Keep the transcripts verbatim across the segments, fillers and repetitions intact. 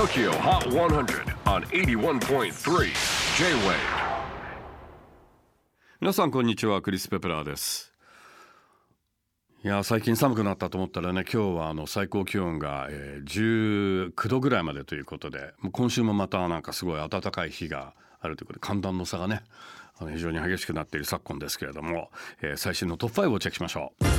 Tokyo Hot ひゃく on はちじゅういってんさん J-Wave。 皆さんこんにちは、クリス・ペプラーです。いや最近寒くなったと思ったらね、今日はあの最高気温が、えー、じゅうきゅうどぐらいまでということで、もう今週もまたなんかすごい暖かい日があるということで、寒暖の差がねあの非常に激しくなっている昨今ですけれども、えー、最新のトップファイブをチェックしましょう。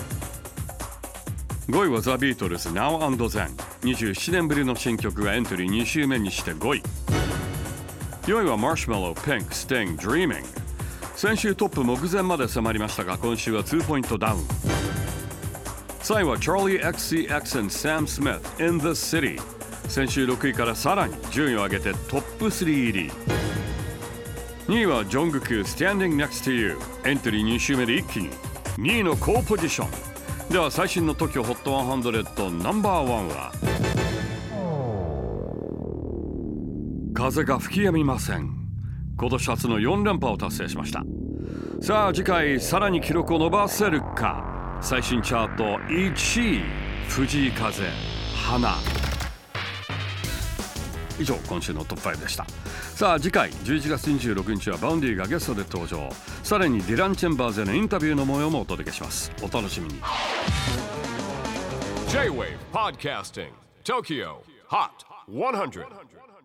ごいはザ・ビートルズ Now and Then。 にじゅうななねんぶりの新曲がエントリーに週目にしてごい。よいはマーシュマロ Pink Sting Dreaming。 先週トップ目前まで迫りましたが、今週はにポイントダウン。さんいは Charlie エックスシーエックス and Sam Smith In the City。 先週ろくいからさらに順位を上げてトップスリー入り。にいはジョングク Standing Next to You。 エントリーに週目で一気ににいの高ポジション。では最新の トキオ ホットひゃくナンバーワンは、風が吹き止みません。今年初のよん連覇を達成しました。さあ次回さらに記録を伸ばせるか。最新チャートいちい、藤井風花。以上今週のトップファイブでした。さあ次回じゅういちがつにじゅうろくにちはバウンディがゲストで登場。さらにディラン・チェンバーズへのインタビューの模様もお届けします。お楽しみに。 J-Wave Podcasting Tokyo Hot ひゃく